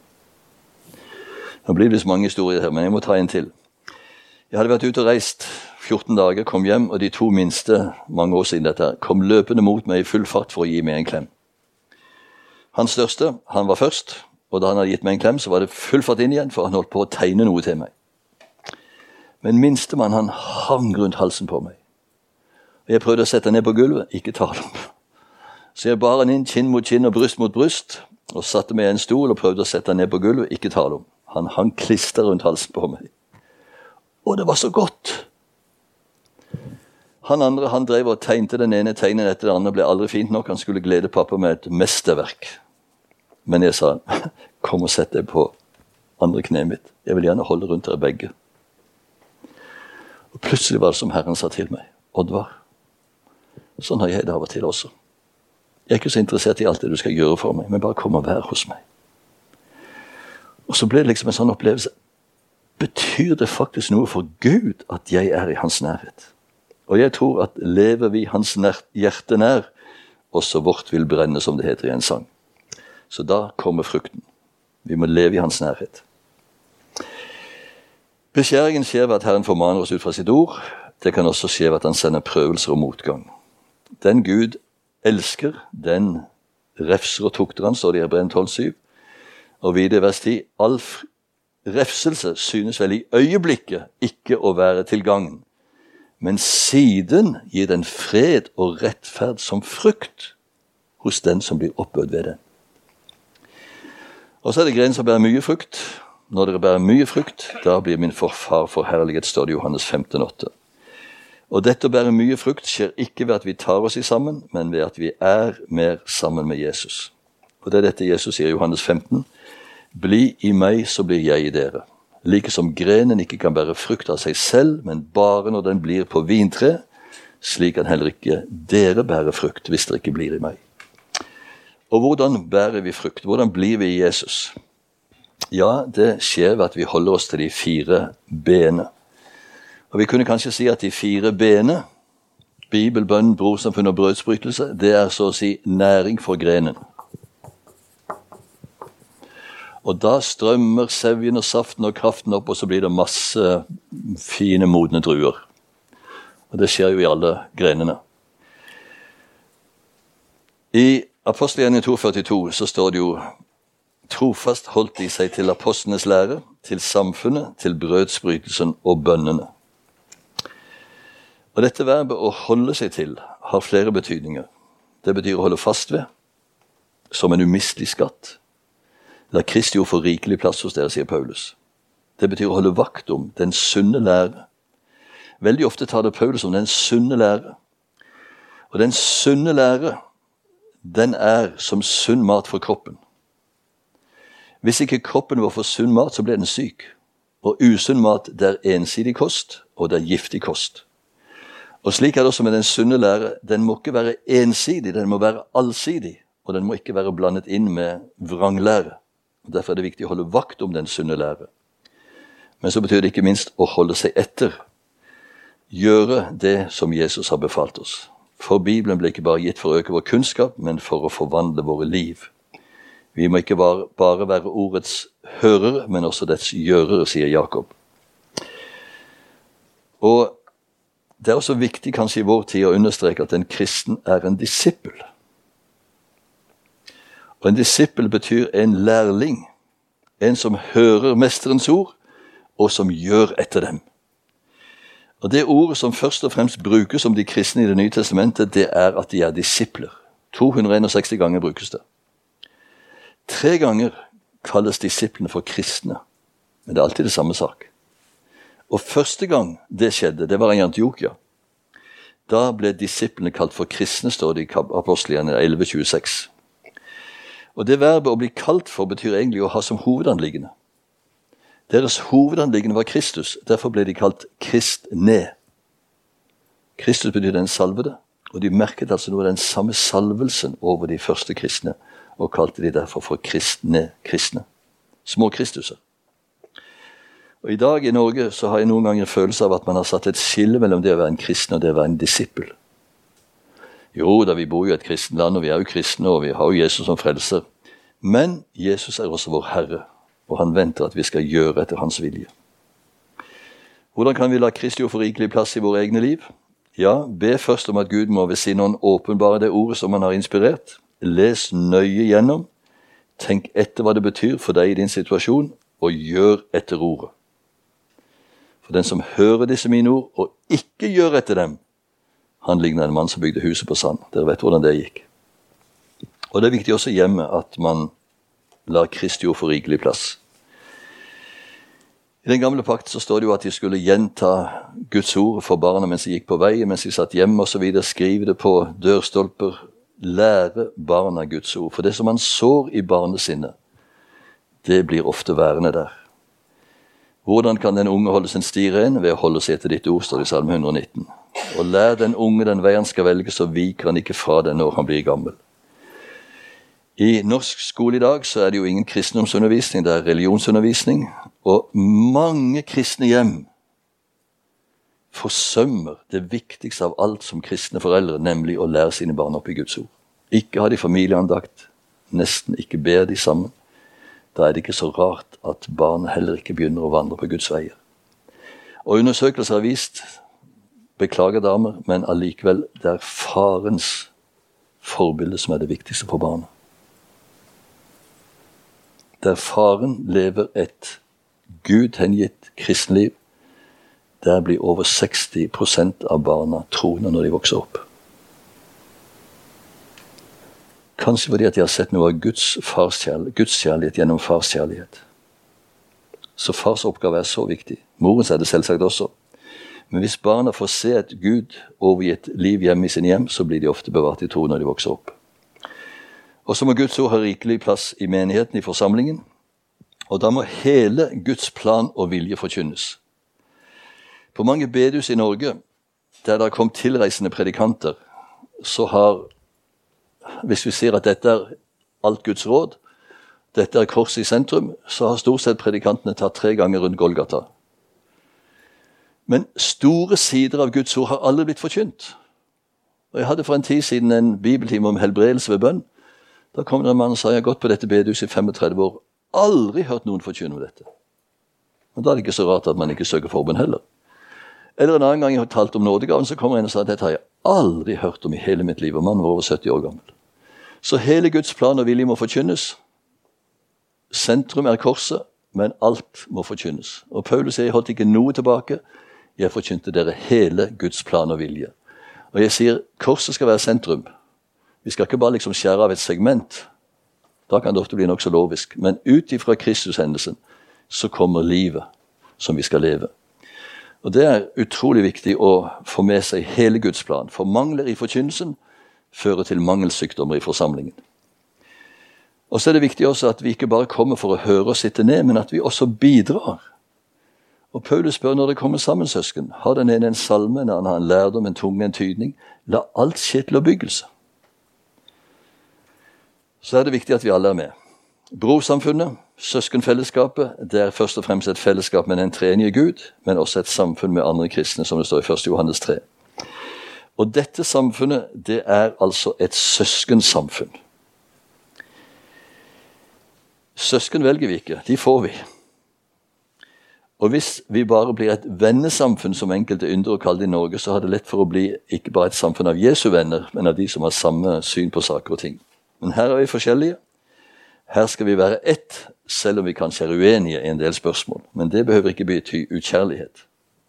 Nå blir det så mange historier her, men jeg må ta en til. Jeg hadde vært ute og reist 14 dager, kom hjem, og de 2 minste, mange år siden dette, kom løpende mot meg i full fart for å gi meg en klem. Han største, han var først, og da han hadde gitt meg en klem, så var det full fart inn igjen, for han holdt på å tegne noe til meg. Men minstemann, han hang rundt halsen på meg. Og jeg prøvde å sette han ned på gulvet, ikke tale om. Så jeg bar han inn kinn mot kinn og bryst mot bryst, og satte meg i en stol og prøvde å sette han ned på gulvet, ikke tale om. Han hang klister rundt halsen på meg. Og det var så godt. Han andre, han drev og tegnte den ene tegnen etter det andre, ble aldri fint nok. Han skulle glede pappa med et mesterverk. Men jeg sa, kom og sett deg på andre kneet mitt. Jeg vil gjerne holde rundt dere begge. Og plutselig var det som Herren sa til meg, Oddvar, sånn har jeg det av og til også. Jeg er ikke så interessert i alt det du skal gjøre for meg, men bare kom og vær hos meg. Og så ble det liksom en sånn opplevelse. Betyr det faktisk noe for Gud at jeg er i hans nærhet? Og jeg tror at lever vi hans hjerte nær, også vårt vil brenne, som det heter i en sang. Så da kommer frukten. Vi må leve i hans nærhet. Beskjæringen skjer ved at Herren formaner oss ut fra sitt ord. Det kan også skje ved at han sender prøvelser og motgang. Den Gud elsker, den refser og tukter han, står det i Hebreerne 12,7. Og videre i vers 10, all refselse synes vel i øyeblikket ikke å være til gagn, men siden gir den fred og rettferd som frukt hos den som blir oppbød ved den. Og så det greien som bærer mye frukt. Når dere bærer mye frukt, da blir min far forherliget, står det i Johannes 15,8. Og dette å bære mye frukt skjer ikke ved at vi tar oss i sammen, men ved at vi er mer sammen med Jesus. Og det er dette Jesus sier i Johannes 15. Bli i meg, så blir jeg i dere. Like som grenen ikke kan bære frukt av seg selv, men bare når den blir på vintre, slik kan heller ikke dere bære frukt hvis dere ikke blir i meg. Og hvordan bærer vi frukt? Hvordan blir vi i Jesus? Ja, det skjer ved at vi holder oss til de 4 benene. Og vi kunne kanskje si at de 4 benene, Bibel, bønn, brorsamfunn og brødsbrytelse, det er så å si næring for grenen. Og da strømmer sevjen og saften og kraften opp, og så blir det masse fine, modne druer. Og det skjer jo i alle grenene. I Apostelgjerningen 2,42 så står det jo trofast holdt de seg til apostlenes lære, til samfunnet, til brødsbrytelsen og bønnene. Og dette verbet å holde seg til har flere betydninger. Det betyr å holde fast ved, som en umistelig skatt. La Kristi ord få rikelig plass hos dere, sier Paulus. Det betyr å holde vakt om den sunne lære. Veldig ofte tar det Paulus om den sunne lære. Og den sunne lære, den er som sunn mat for kroppen. Hvis ikke kroppen vår får sunn mat, så blir den syk. Og usunn mat, det er ensidig kost, og det er giftig kost. Og slik er det også med den sunne lære. Den må ikke være ensidig, den må være allsidig, og den må ikke være blandet inn med vranglære. Derfor er det viktig å holde vakt om den sunne lære. Men så betyr det ikke minst å holde seg etter. Gjøre det som Jesus har befalt oss. For Bibelen ble ikke bare gitt for å øke vår kunnskap, men for å forvandle våre liv. Vi må ikke bare være ordets hørere, men også dets gjørere, sier Jakob. Og det er også viktig kanskje i vår tid å understreke at en kristen er en disippel. Og en disippel betyr en lærling, en som hører mesterens ord, og som gjør etter dem. Og det ordet som først og fremst brukes om de kristne i Det nye testamentet, det er at de er disipler. 261 ganger brukes det. 3 ganger kalles disiplene for kristne, men det er alltid det samme sak. Og første gang det skjedde, det var i Antiokia. Da ble disiplene kalt for kristne, står det i Apostelgjerningen 11,26. Og det verbet å bli kalt for betyr egentlig å ha som hovedanliggende. Deres hovedanliggende var Kristus, derfor ble de kalt kristne. Kristus betyr den salvede, og de merket altså noe av den samme salvelsen over de første kristne, og kalte de derfor for kristne. Små Kristuser. Og i dag i Norge så har jeg noen ganger en følelse av at man har satt et skille mellom det å være en kristen og det å være en disippel. Jo, da vi bor jo i et kristen land, og vi er jo kristne, og vi har jo Jesus som frelser. Men Jesus er også vår Herre, og han venter at vi skal gjøre etter hans vilje. Hvordan kan vi la Kristi ord få rikelig plass i våre egne liv? Ja, be først om at Gud må ved sin ånd åpenbare det ordet som han har inspirert. Les nøye gjennom. Tenk etter hva det betyr for deg i din situasjon, og gjør etter ordet. For den som hører disse mine ord, og ikke gjør etter dem, han ligner en mann som bygde huset på sand. Dere vet hvordan det gikk. Og det er viktig også hjemme at man lar Kristi ord få rikelig plass. I den gamle pakt så står det jo at de skulle gjenta Guds ord for barna mens de gikk på vei, mens de satt hjemme og så videre, skrive det på dørstolper, lære barna Guds ord. For det som man sår i barnesinnet, det blir ofte værende der. Hvordan kan den unge holde sin sti ren? Ved å holde seg etter ditt ord, står det i Salme 119. Og lær den unge den vei han skal velge, så viker han ikke fra den når han blir gammel. I norsk skole i dag så er det jo ingen kristendomsundervisning, det er religionsundervisning, og mange kristne hjem forsømmer det viktigste av alt som kristne foreldre, nemlig å lære sine barn opp i Guds ord. Ikke har de familieandakt, nesten ikke ber de sammen. Da er det ikke så rart at barn heller ikke begynner å vandre på Guds veier. Og undersøkelser har vist, beklager damer, men allikevel det er farens forbilde som er det viktigste for barna. der faren lever et Gud hengitt kristenliv, der blir over 60% av barna troende når de vokser opp. Kanskje fordi at de har sett noe av Guds kjærlighet gjennom fars kjærlighet. Så fars oppgave er så viktig. Morens er det selvsagt også. Men hvis barna får se et Gud overgitt liv hjemme i sin hjem, så blir de ofte bevart i tro når de vokser opp. Og så må Guds ord ha rikelig plass i menigheten, i forsamlingen. Og da må hele Guds plan og vilje forkynnes. På mange bedehus i Norge, der det har kommet tilreisende predikanter, så har, hvis vi sier at dette er alt Guds råd, dette er korset i sentrum, så har stort sett predikantene tatt 3 ganger rundt Golgata. Men store sider av Guds ord har aldri blitt forkynt. Og jeg hadde for en tid siden en bibeltime om helbredelse ved bønn. Da kom det en mann og sa, jeg har gått på dette bedehuset i 35 år, aldri hørt noen forkynne om dette. Og da er det ikke så rart at man ikke søker forbønn heller. Eller en annen gang jeg har talt om nådegaven, så kommer en og sa, dette har jeg aldri hørt om i hele mitt liv, og mannen var over 70 år gammel. Så hele Guds plan og vilje må forkynnes. Sentrum er korset, men alt må forkynnes. Og Paulus sier, jeg holdt ikke noe tilbake, jeg forkynte dere hele Guds plan og vilje. Og jeg sier, korset skal være sentrum. Vi skal ikke bare liksom skjære av et segment. Da kan det ofte bli nok så lovisk. Men ut ifra Kristus-hendelsen, så kommer livet som vi skal leve. Og det er utrolig viktig å få med seg hele Guds plan. For mangler i forkynnelsen fører til mangelsykdommer i forsamlingen. Og så er det viktig også at vi ikke bare kommer for å høre og sitte ned, men at vi også bidrar. Og Paulus spør når det kommer sammen søsken, har den ene en salme, en annen har en lærdom, en tunge, en tydning. La alt skje til oppbyggelse. Så er det viktig at vi alle er med. Brorsamfunnet, søskenfellesskapet, det er først og fremst et fellesskap med den treenige Gud, men også et samfunn med andre kristne, som det står i 1. Johannes 3. Og dette samfunnet, det er altså et søskensamfunn. Søsken velger vi ikke, de får vi. Og hvis vi bare blir et vennesamfunn, som enkelte ynder å kalle det i Norge, så har det lett for å bli ikke bare et samfunn av Jesu venner, men av de som har samme syn på saker og ting. Men her er vi forskjellige. Her skal vi være ett, selv om vi kanskje er uenige i en del spørsmål. Men det behøver ikke bety ukjærlighet.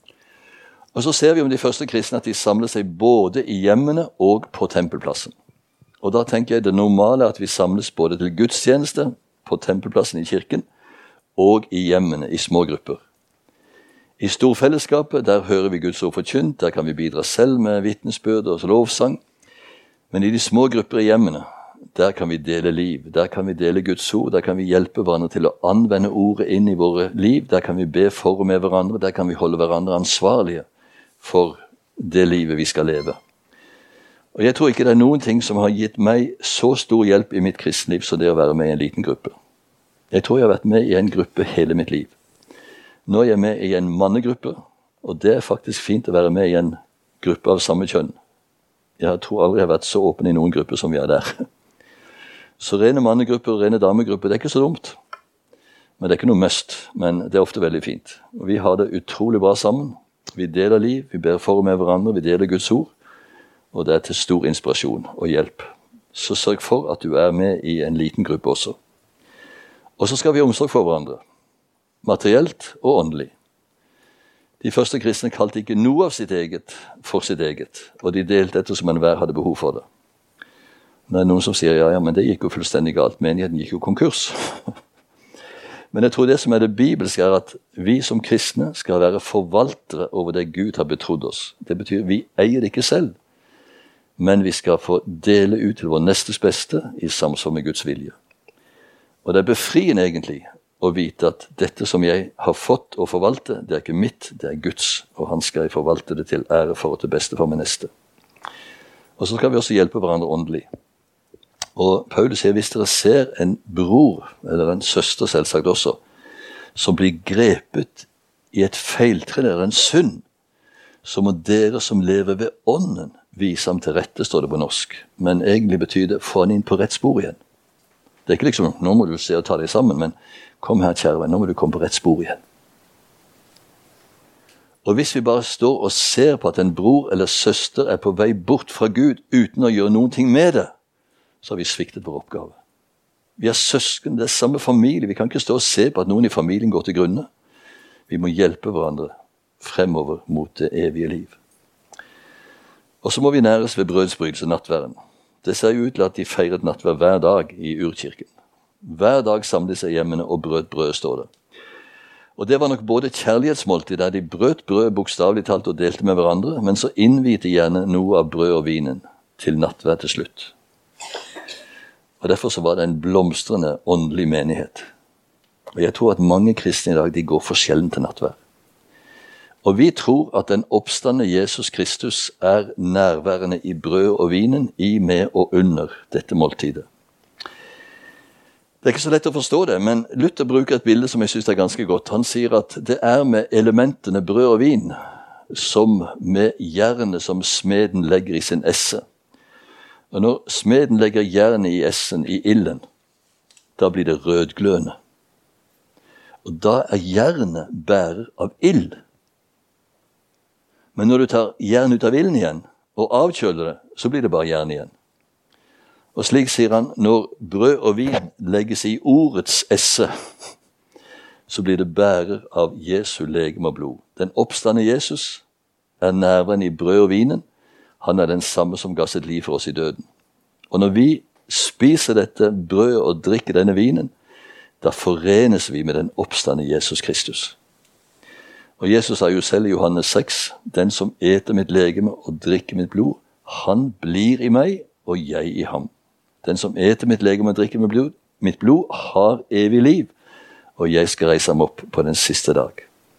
Og så ser vi om de første kristne at de samler seg både i hjemmene og på tempelplassen. Og da tenker jeg det normale er at vi samles både til gudstjeneste, på tempelplassen i kirken, og i hjemmene, i små grupper. I storfellesskapet, der hører vi Guds ord forkynt, der kan vi bidra selv med vitnesbyrd og lovsang. Men i de små grupper i hjemmene, der kan vi dele liv, der kan vi dele Guds ord, der kan vi hjelpe hverandre til å anvende ordet inn i våre liv, der kan vi be for og med hverandre, der kan vi holde hverandre ansvarlige for det livet vi skal leve. Og jeg tror ikke det er noen ting som har gitt meg så stor hjelp i mitt kristenliv som det å være med i en liten gruppe. Jeg tror jeg har vært med i en gruppe hele mitt liv. Nå er jeg med i en mannegruppe, og det er faktisk fint å være med i en gruppe av samme kjønn. Jeg tror aldri jeg har vært så åpen i noen grupper som vi er der. Så rene mannegrupper og rene damegrupper, det er ikke så dumt. Men det er ikke noe must, men det er ofte veldig fint. Og vi har det utrolig bra sammen. Vi deler liv, vi ber for og med hverandre, vi deler Guds ord, og det er til stor inspirasjon og hjelp. Så sørg for at du er med i en liten gruppe også. Og så skal vi ha omsorg for hverandre, materielt og åndelig. De første kristne kalte ikke noe av sitt eget for sitt eget, og de delte etter som enhver hadde behov for det. Det er noen som sier, ja, men det gikk jo fullstendig galt, menigheten gikk jo konkurs. Men jeg tror det som er det bibelske er at vi som kristne skal være forvaltere over det Gud har betrodd oss. Det betyr vi eier det ikke selv, men vi skal få dele ut til vår nestes beste i samsvar med Guds vilje. Og det er befriende egentlig å vite at dette som jeg har fått å forvalte, det er ikke mitt, det er Guds, og han skal jeg forvalte det til ære for og til beste for min neste. Og så skal vi også hjelpe hverandre åndelig. Og Paulus sier, hvis dere ser en bror, eller en søster selvsagt også, som blir grepet i et feiltre eller en synd, så må dere som lever ved ånden vise ham til rette, står det på norsk. Men egentlig betyr det, få han inn på rett spor igjen. Det er ikke liksom, nå må du se og ta deg sammen, men kom her, kjære venn, nå må du komme på rett spor igjen. Og hvis vi bare står og ser på at en bror eller søster er på vei bort fra Gud uten å gjøre noen ting med det, så har vi sviktet vår oppgave. Vi er søsken, det er samme familie. Vi kan ikke stå og se på at noen i familien går til grunne. Vi må hjelpe hverandre fremover mot det evige liv. Og så må vi næres ved brødsbrytelse, nattværen. Det ser jo ut til at de feiret nattvær hver dag i urkirken. Hver dag samlet seg hjemmene og brøt brød, står det. Og det var nok både kjærlighetsmåltid, der de brøt brød bokstavelig talt og delte med hverandre, men så innvite gjerne noe av brød og vinen til nattvær til slutt. Og derfor så var det en blomstrende åndelig menighet. Og jeg tror at mange kristne i dag, de går for sjelden til nattvær. Og vi tror at den oppstande Jesus Kristus er nærværende i brød og vinen, i, med og under dette måltidet. Det er ikke så lett å forstå det, men Luther bruker et bilde som jeg synes er ganske godt. Han sier at det er med elementene brød og vin, som med jernet som smeden legger i sin esse. Og når smeden legger jernet i essen, i ilden, da blir det rødglødende. Og da er jernet bærer av ild. Men når du tar jern ut av ilden igjen, og avkjøler det, så blir det bare jern igjen. Og slik sier han, når brød og vin legges i ordets esse, så blir det bærer av Jesu legeme og blod. Den oppstande Jesus er nærværende i brød og vinen. Han er den samme som ga sitt liv for oss i døden. Og når vi spiser dette brødet og drikker denne vinen, da forenes vi med den oppstande Jesus Kristus. Og Jesus sa jo selv i Johannes 6, den som eter mitt legeme og drikker mitt blod, han blir i meg og jeg i ham. Den som eter mitt legeme og drikker mitt blod har evig liv, og jeg skal reise ham opp på den siste dag.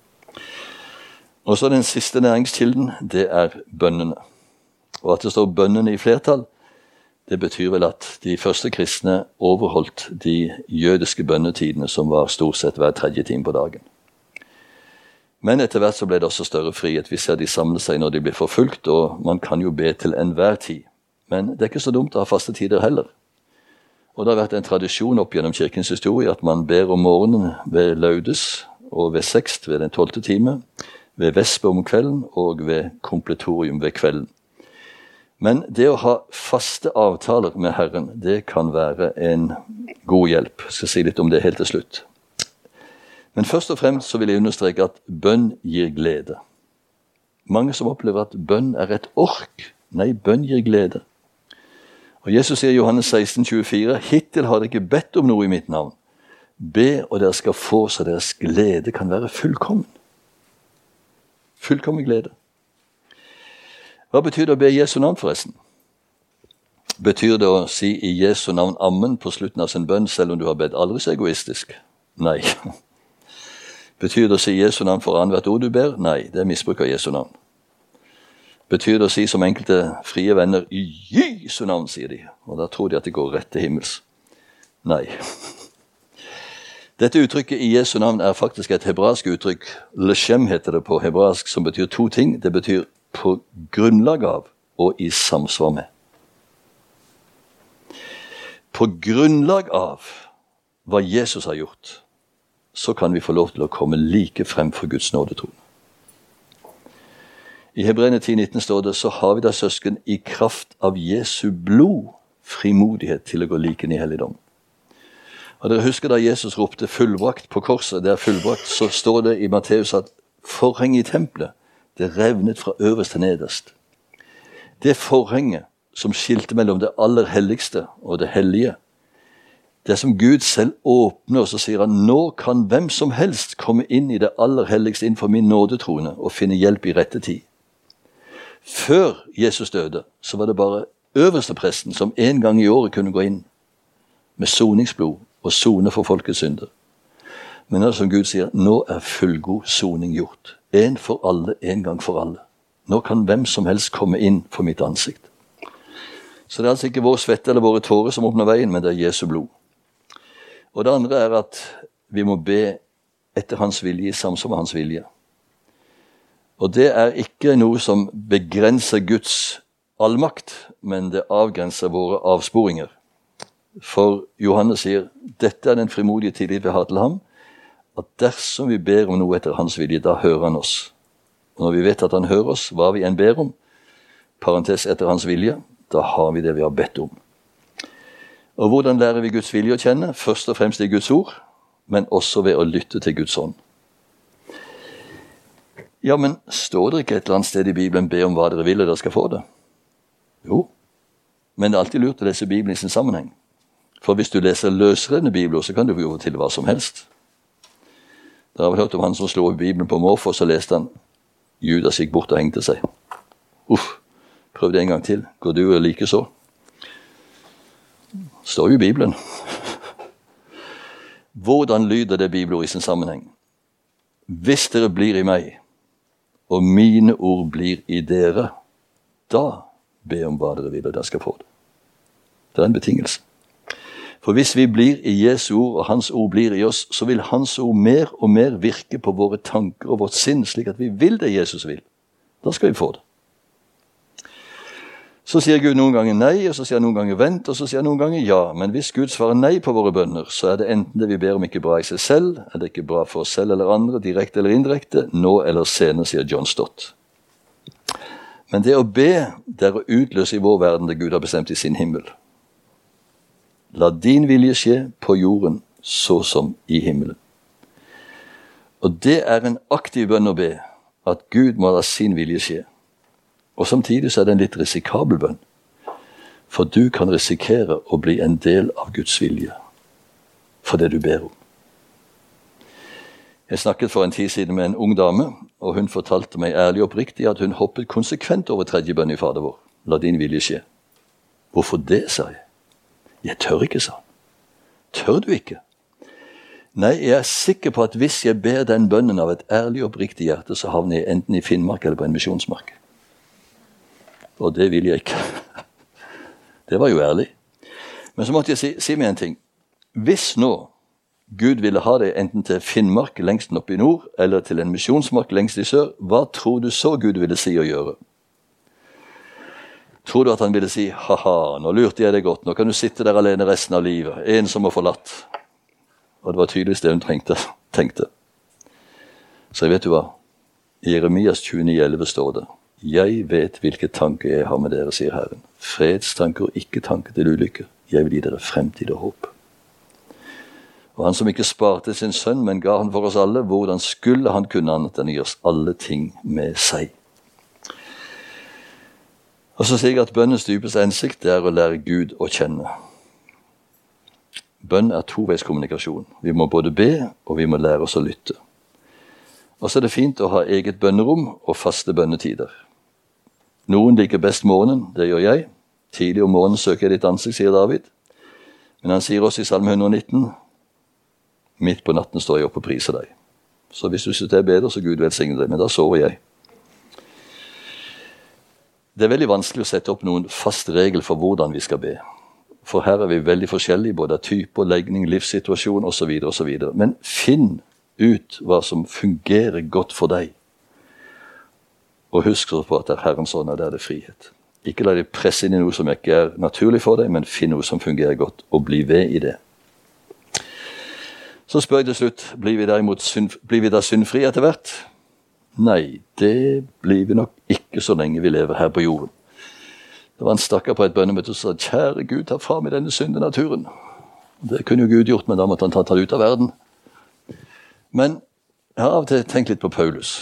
Og så den siste næringskilden, det er bønnene. Og at det står bønnene i flertall, det betyr vel at de første kristne overholdt de jødiske bønnetidene, som var stort sett hver tredje time på dagen. Men etter hvert så ble det også større frihet. Vi ser de samler seg når de blir forfulgt, og man kan jo be til enhver tid. Men det er ikke så dumt å ha faste tider heller. Og det har vært en tradisjon opp gjennom kirkens historie at man ber om morgenen ved laudes, og ved sekst ved den 12. time, ved vespe om kvelden og ved kompletorium ved kvelden. Men det å ha faste avtaler med Herren, det kan være en god hjelp. Jeg skal si litt om det helt til slutt. Men først og fremst så vil jeg understreke at bønn gir glede. Mange som opplever at bønn er et ork. Nei, bønn gir glede. Og Jesus sier i Johannes 16, 24, hittil har dere ikke bedt om noe i mitt navn. Be, og dere skal få, så deres glede kan være fullkommen. Fullkommen glede. Hva betyr det å be i Jesu navn forresten? Betyr det å si i Jesu navn amen på slutten av sin bønn, selv om du har bedt aldri så egoistisk? Nei. Betyr det å si Jesu navn for annethvert ord du ber? Nei, det er misbruk av Jesu navn. Betyr det å si som enkelte frie venner, i Jesu navn, sier de, og da tror de at det går rett til himmels. Nei. Dette uttrykket i Jesu navn er faktisk et hebraisk uttrykk. Leshem heter det på hebraisk, som betyr to ting. Det betyr på grunnlag av og i samsvar med. På grunnlag av hva Jesus har gjort, så kan vi få lov til å komme like frem for Guds nådetron. I Hebreerne 10,19 står det, så har vi da søsken i kraft av Jesu blod frimodighet til å gå liken i helligdom. Og dere husker da Jesus ropte fullbrakt på korset, det er fullbrakt, så står det i Matteus at forhenget i tempelet, det revnet fra øverst til nederst. Det forhenget som skilte mellom det aller helligste og det hellige, det som Gud selv åpner, og så sier han, nå kan hvem som helst komme inn i det aller helligste innenfor min nådetrone og finne hjelp i rette tid. Før Jesus døde, så var det bare øverste presten som en gang i året kunne gå inn med soningsblod og sone for folkets synder. Men det som Gud sier, nå er fullgod soning gjort. En for alle, en gang for alle. Nå kan hvem som helst komme inn for mitt ansikt. Så det er altså ikke vår svette eller våre tårer som åpner veien, men det er Jesu blod. Og det andre er at vi må be etter hans vilje, i samsvar med hans vilje. Og det er ikke noe som begrenser Guds allmakt, men det avgrenser våre avsporinger. For Johannes sier, dette er den frimodige tillit vi har til ham, at dersom vi ber om noe etter hans vilje, da hører han oss. Og når vi vet at han hører oss, hva vi enn ber om, parentes etter hans vilje, da har vi det vi har bedt om. Og hvordan lærer vi Guds vilje å kjenne? Først og fremst i Guds ord, men også ved å lytte til Guds ånd. Ja, men står det ikke et eller annet sted i Bibelen be om hva dere vil, og dere skal få det? Jo, men det er alltid lurt å lese Bibelen i sin sammenheng. For hvis du leser løsrevne bibler, så kan du jo til hva som helst. Dere har vel hørt om han som slo opp Bibelen på måfå, så leste han Judas gikk bort og hengte seg. Prøv det en gang til. Går du og like så? Står jo i Bibelen. Hvordan lyder det bibelord i sin sammenheng? Hvis dere blir i meg, og mine ord blir i dere, da be om hva dere vil, og dere skal få det. Det er en betingelse. For hvis vi blir i Jesu ord, og hans ord blir i oss, så vil hans ord mer og mer virke på våre tanker og vårt sinn, slik at vi vil det Jesus vil. Da skal vi få det. Så sier Gud noen ganger nei, og så sier han noen ganger vent, og så sier han noen ganger ja. Men hvis Gud svarer nei på våre bønner, så er det enten det vi ber om ikke bra i seg selv, er det ikke bra for oss selv eller andre, direkte eller indirekte, nå eller senere, sier John Stott. Men det å be, det er å utløse i vår verden det Gud har bestemt i sin himmel. La din vilje skje på jorden, så som i himmelen. Og det er en aktiv bønn å be, at Gud må la sin vilje skje. Og samtidig så er det en litt risikabel bønn. For du kan risikere å bli en del av Guds vilje. For det du ber om. Jeg snakket for en tid siden med en ung dame, og hun fortalte meg ærlig og oppriktig at hun hoppet konsekvent over tredje bønn i Fader vår. La din vilje skje. Hvorfor det, sa jeg. Jeg tør ikke, sa han. Tør du ikke? Nei, jeg er sikker på at hvis jeg ber den bønnen av et ærlig og oppriktig hjerte, så havner jeg enten i Finnmark eller på en misjonsmark. Og det vil jeg ikke. Det var jo ærlig. Men så måtte jeg si meg en ting. Hvis nå Gud ville ha deg enten til Finnmark lengst oppe i nord, eller til en misjonsmark lengst i sør, hva tror du så Gud ville si og gjøre? Tror du at han ville si, haha, nå lurte jeg deg godt, nå kan du sitte der alene resten av livet, ensom og forlatt. Og det var tydeligvis det hun tenkte. Så vet du hva? I Jeremias 29,11 står det, jeg vet hvilke tanker jeg har med dere, sier Herren. Fredstanker og ikke tanker til ulykke. Jeg vil gi dere fremtid og håp. Og han som ikke sparte sin sønn, men ga han for oss alle, hvordan skulle han kunne annet enn å gi oss alle ting med seg? Og så sier jeg at bønnens dypeste hensikt er å lære Gud å kjenne. Bønn er toveiskommunikasjon. Vi må både be, og vi må lære oss å lytte. Og så er det fint å ha eget bønnerom og faste bønnetider. Noen liker best morgenen, det gjør jeg. Tidlig om morgenen søker jeg ditt ansikt, sier David. Men han sier også i Salme 119, midt på natten står jeg opp og priser deg. Så hvis du synes det er bedre, så Gud velsigne deg, men da sover jeg. Det er veldig vanskelig å sette opp noen fast regel for hvordan vi skal be. For her er vi veldig forskjellige, både av type, legning, livssituasjon osv. osv. Men finn ut hva som fungerer godt for deg. Og husk på at det er Herrens ånd, og der er det frihet. Ikke la deg presse inn i noe som ikke er naturlig for deg, men finn noe som fungerer godt, og bli ved i det. Så spør jeg til slutt, blir vi da syndfri etter hvert? Nei, det blir vi nok ikke så lenge vi lever her på jorden. Det var en stakkar på et bønnemøte som sa, kjære Gud, ta fra meg denne syndenaturen. Det kunne jo Gud gjort, men da måtte han ta det ut av verden. Men jeg har av og til tenkt litt på Paulus.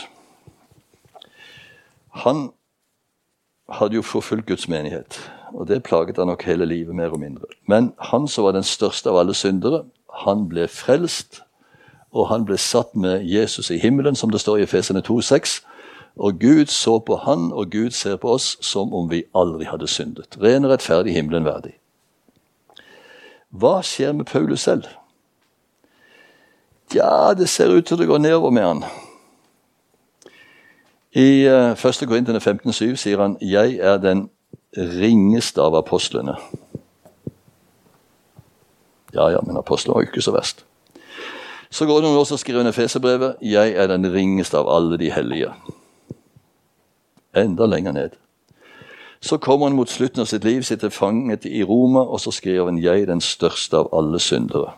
Han hadde jo forfulgt Guds menighet, og det plaget han nok hele livet mer og mindre. Men han som var den største av alle syndere, han ble frelst, og han ble satt med Jesus i himmelen, som det står i Efeserne 2,6. Og Gud så på han, og Gud ser på oss som om vi aldri hadde syndet. Ren og rettferdig, himmelen verdig. Hva skjer med Paulus selv? Ja, det ser ut til det går nedover med han. I 1. Korinterne 15,7 sier han, jeg er den ringeste av apostlene. Ja, men apostlene var jo ikke så verst. Så går det noen år og skriver en Efeserbrevet, jeg er den ringeste av alle de hellige. Enda lenger ned. Så kommer han mot slutten av sitt liv, sitter fanget i Roma, og så skriver han, jeg er den største av alle syndere.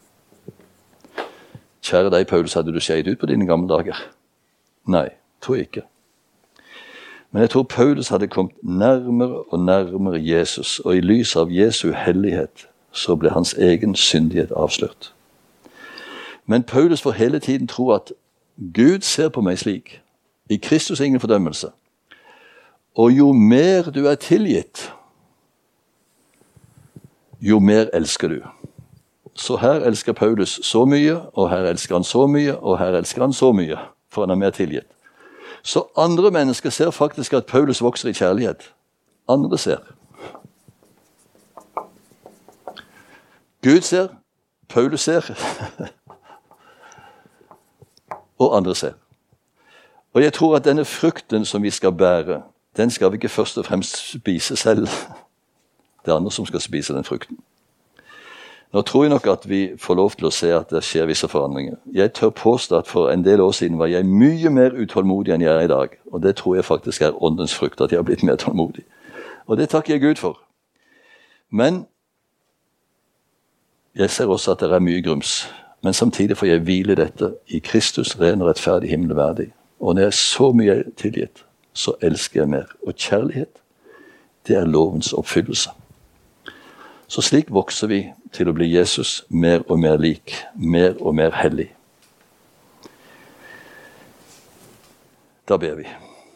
Kjære deg, Paulus, hadde du skjeit ut på dine gamle dager? Nei, tror jeg ikke. Men jeg tror Paulus hadde kommet nærmere og nærmere Jesus, og i lys av Jesu hellighet, så ble hans egen syndighet avslørt. Men Paulus får hele tiden tro at Gud ser på meg slik, i Kristus ingen fordømmelse. Og jo mer du er tilgitt, jo mer elsker du. Så her elsker Paulus så mye, og her elsker han så mye, og her elsker han så mye, for han er mer tilgitt. Så andre mennesker ser faktisk at Paulus vokser i kjærlighet. Andre ser. Gud ser, Paulus ser, og andre ser. Og jeg tror at denne frukten som vi skal bære, den skal vi ikke først og fremst spise selv. Det er andre som skal spise den frukten. Nå tror jeg nok at vi får lov til å se at det skjer visse forandringer. Jeg tør påstå at for en del år siden var jeg mye mer utålmodig enn jeg er i dag. Og det tror jeg faktisk er åndens frukt, at jeg har blitt mer tålmodig. Og det takker jeg Gud for. Men jeg ser også at det er mye grums. Men samtidig får jeg hvile dette i Kristus, ren og rettferdig, himmelverdig. Og når jeg er så mye tilgitt, så elsker jeg mer. Og kjærlighet, det er lovens oppfyllelse. Så slik vokser vi til å bli Jesus mer og mer lik, mer og mer hellig. Da ber vi.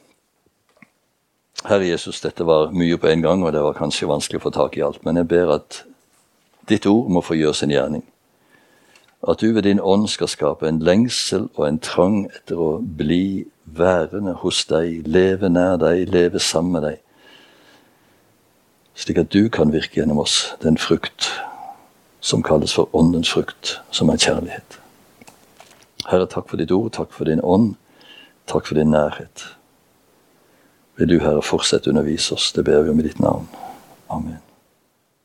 Herre Jesus, dette var mye på en gang, og det var kanskje vanskelig å få tak i alt, men jeg ber at ditt ord må få gjøre sin gjerning. At du ved din ånd skal skape en lengsel og en trang etter å bli værende hos deg, leve nær deg, leve sammen med deg, slik at du kan virke gjennom oss den frukt som kalles for åndens frukt, som er kjærlighet. Herre, takk for ditt ord, takk for din ånd, takk for din nærhet. Vil du, Herre, fortsette å undervise oss, det ber vi om i ditt navn. Amen.